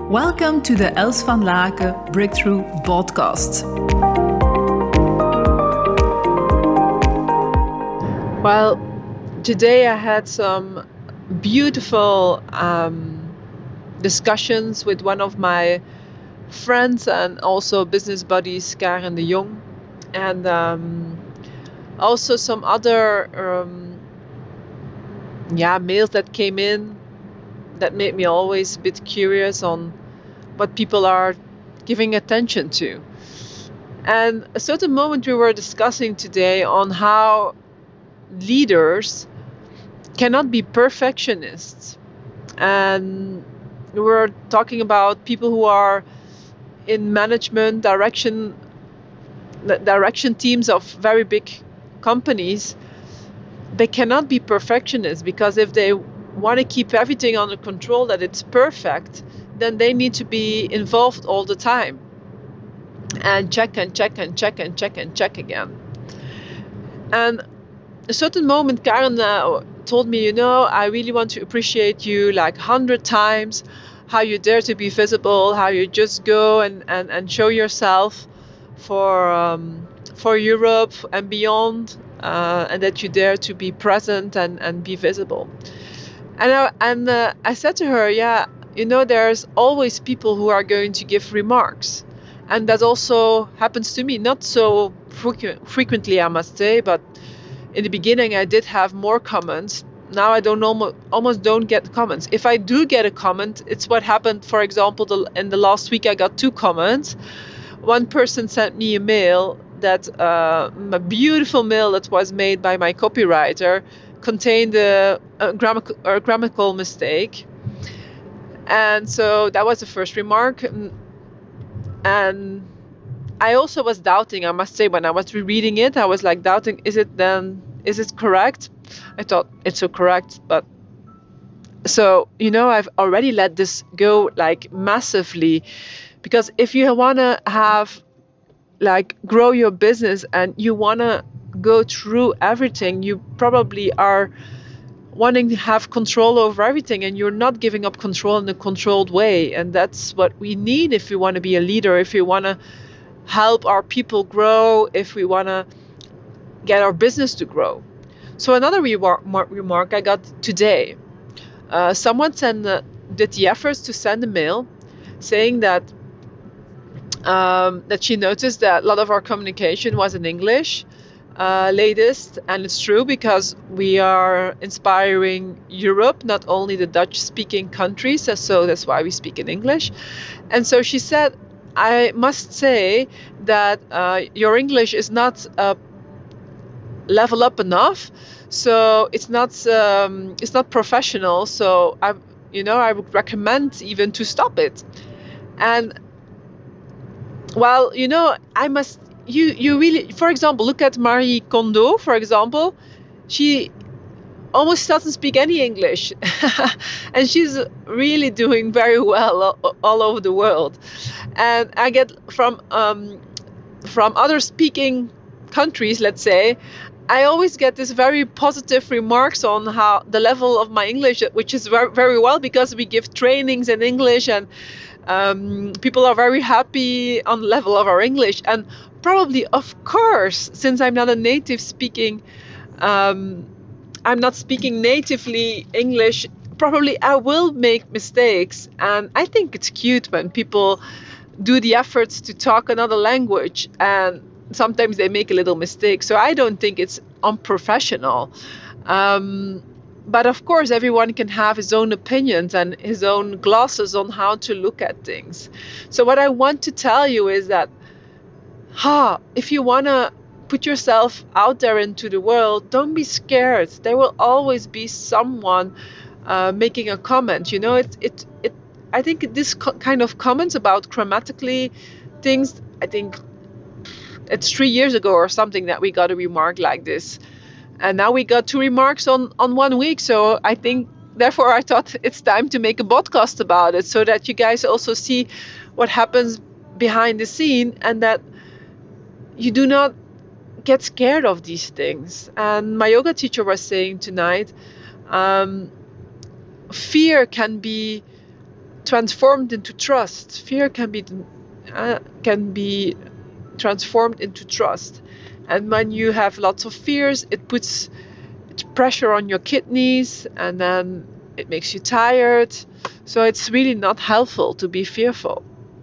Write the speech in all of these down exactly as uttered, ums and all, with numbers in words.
Welcome to the Els van Laken Breakthrough Podcast. Well, today I had some beautiful um, discussions with one of my friends and also business buddies, Karen de Jong, and um, also some other um, yeah mails that came in that made me always a bit curious on what people are giving attention to. And a certain moment we were discussing today on how leaders cannot be perfectionists. And we were talking about people who are in management direction direction teams of very big companies. They cannot be perfectionists, because if they want to keep everything under control, that it's perfect, then they need to be involved all the time and check and check and check and check and check again. And a certain moment, Karen uh, told me, you know, I really want to appreciate you like a hundred times, how you dare to be visible, how you just go and, and, and show yourself for um, for Europe and beyond, uh, and that you dare to be present and, and be visible. And I, and uh, I said to her, yeah, you know, there's always people who are going to give remarks. And that also happens to me, not so frequ- frequently, I must say, but in the beginning I did have more comments. Now I don't almost, almost don't get comments. If I do get a comment, it's what happened, for example, the, in the last week I got two comments. One person sent me a mail that uh, a beautiful mail that was made by my copywriter contained a, a, grammatical, a grammatical mistake. And so that was the first remark. And I also was doubting, I must say, when I was rereading it, I was like doubting, is it then, is it correct? I thought it's so correct, but so, you know, I've already let this go like massively, because if you want to have like grow your business and you want to go through everything, you probably are wanting to have control over everything, and you're not giving up control in a controlled way. And that's what we need if we want to be a leader, if we want to help our people grow, if we want to get our business to grow. So another remark, remark I got today, uh, someone sent uh, did the efforts to send a mail saying that um, that she noticed that a lot of our communication was in English uh, latest, and it's true, because we are inspiring Europe, not only the Dutch-speaking countries, so that's why we speak in English. And so she said, I must say that uh, your English is not uh, level up enough, so it's not um, it's not professional. So I, you know, I would recommend even to stop it. And well, you know, I must you you really, for example, look at Marie Kondo, for example. She almost doesn't speak any English, and she's really doing very well all, all over the world. And I get from um, from other speaking countries, let's say, I always get this very positive remarks on how the level of my English, which is very, very well, because we give trainings in English, and um, people are very happy on the level of our English. And probably, of course, since I'm not a native speaking, um, I'm not speaking natively English, probably I will make mistakes. And I think it's cute when people do the efforts to talk another language, and sometimes they make a little mistake. So I don't think it's unprofessional. Um, but of course, everyone can have his own opinions and his own glasses on how to look at things. So what I want to tell you is that, ha, if you want to put yourself out there into the world, don't be scared. There will always be someone uh, making a comment. You know, it, it, it, I think this co- kind of comments about grammatically things, I think it's three years ago or something that we got a remark like this. And now we got two remarks on, on one week. So I think, therefore, I thought it's time to make a podcast about it, so that you guys also see what happens behind the scene, and that you do not get scared of these things. And my yoga teacher was saying tonight, um, fear can be transformed into trust. Fear can be uh, can be transformed into trust. And when you have lots of fears, it puts pressure on your kidneys, and then it makes you tired. So it's really not helpful to be fearful.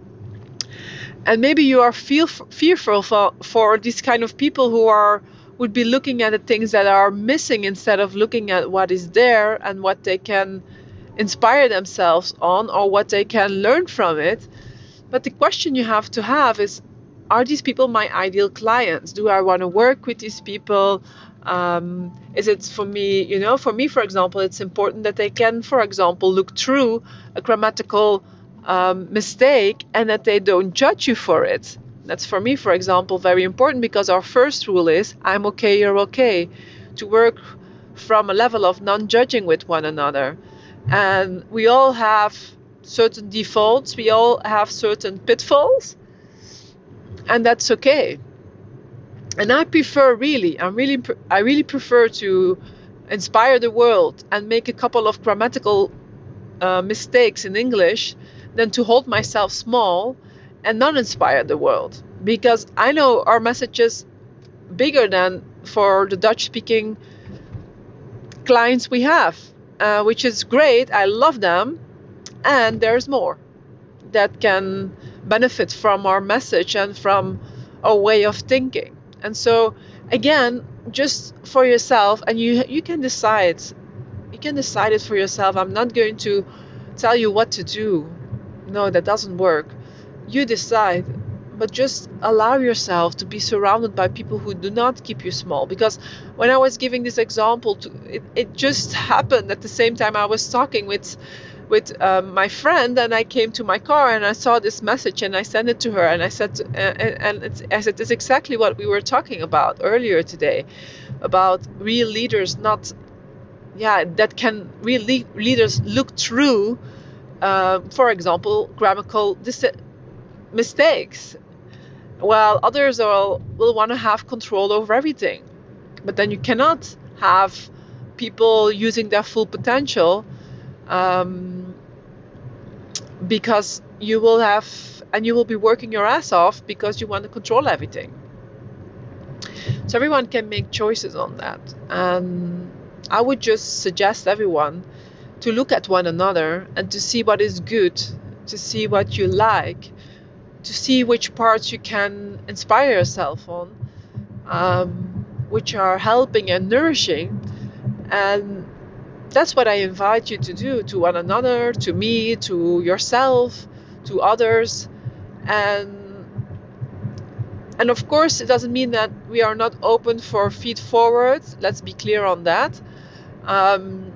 And maybe you are feel, fearful for, for these kind of people who are would be looking at the things that are missing instead of looking at what is there and what they can inspire themselves on or what they can learn from it. But the question you have to have is, are these people my ideal clients? Do I want to work with these people? Um, is it for me, you know, for me, for example, it's important that they can, for example, look through a grammatical um, mistake and that they don't judge you for it. That's for me, for example, very important, because our first rule is I'm okay, you're okay, to work from a level of non-judging with one another. And we all have certain defaults, we all have certain pitfalls, and that's okay. And I prefer really, I really, I really prefer to inspire the world and make a couple of grammatical uh, mistakes in English than to hold myself small and not inspire the world. Because I know our message is bigger than for the Dutch-speaking clients we have, uh, which is great. I love them, and there's more that can benefit from our message and from our way of thinking. And so again, just for yourself, and you you can decide you can decide it for yourself. I'm not going to tell you what to do. No, that doesn't work. You decide, but just allow yourself to be surrounded by people who do not keep you small. Because when I was giving this example, to, it, it just happened at the same time I was talking with with um, my friend, and I came to my car and I saw this message and I sent it to her, and I said, uh, and it's, I said, it's exactly what we were talking about earlier today, about real leaders, not, yeah, that can real le- leaders look through, uh, for example, grammatical dis- mistakes, while others are, will want to have control over everything. But then you cannot have people using their full potential. Um, because you will have, and you will be working your ass off because you want to control everything. So everyone can make choices on that. And I would just suggest everyone to look at one another and to see what is good, to see what you like, to see which parts you can inspire yourself on, um, which are helping and nourishing. And that's what I invite you to do, to one another, to me, to yourself, to others. And and of course, it doesn't mean that we are not open for feed forward. Let's be clear on that. Um,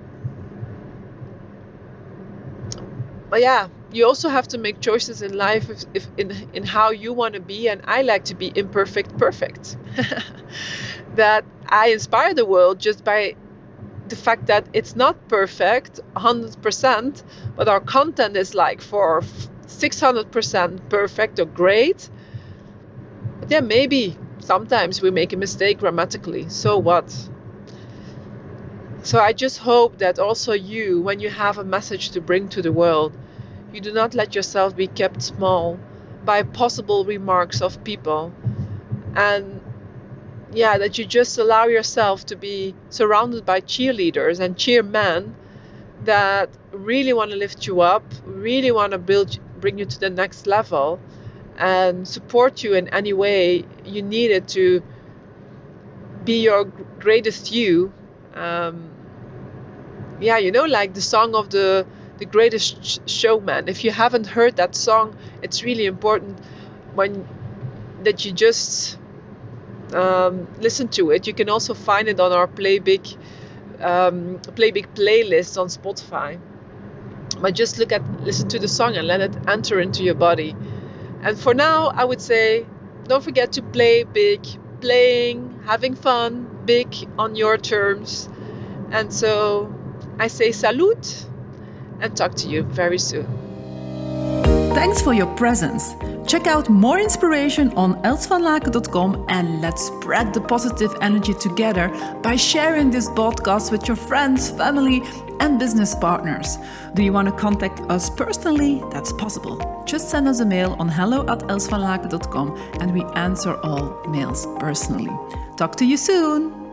but yeah, you also have to make choices in life if, if in, in how you want to be. And I like to be imperfect, perfect. That I inspire the world just by the fact that it's not perfect one hundred percent, but our content is like for six hundred percent perfect or great. But yeah, maybe sometimes we make a mistake grammatically. So what? So I just hope that also you, when you have a message to bring to the world, you do not let yourself be kept small by possible remarks of people. And yeah, that you just allow yourself to be surrounded by cheerleaders and cheermen that really want to lift you up, really want to build, bring you to the next level, and support you in any way you need it to be your greatest you. Um, yeah, you know, like the song of the the Greatest Showman. If you haven't heard that song, it's really important when that you just um, listen to it. You can also find it on our Play Big um, Play Big playlist on Spotify. But just look at, listen to the song and let it enter into your body. And for now, I would say, don't forget to play big, playing, having fun, big on your terms. And so I say salute and talk to you very soon. Thanks for your presence. Check out more inspiration on els van laken dot com and let's spread the positive energy together by sharing this podcast with your friends, family, and business partners. Do you want to contact us personally? That's possible. Just send us a mail on hello at els van laken dot com and we answer all mails personally. Talk to you soon!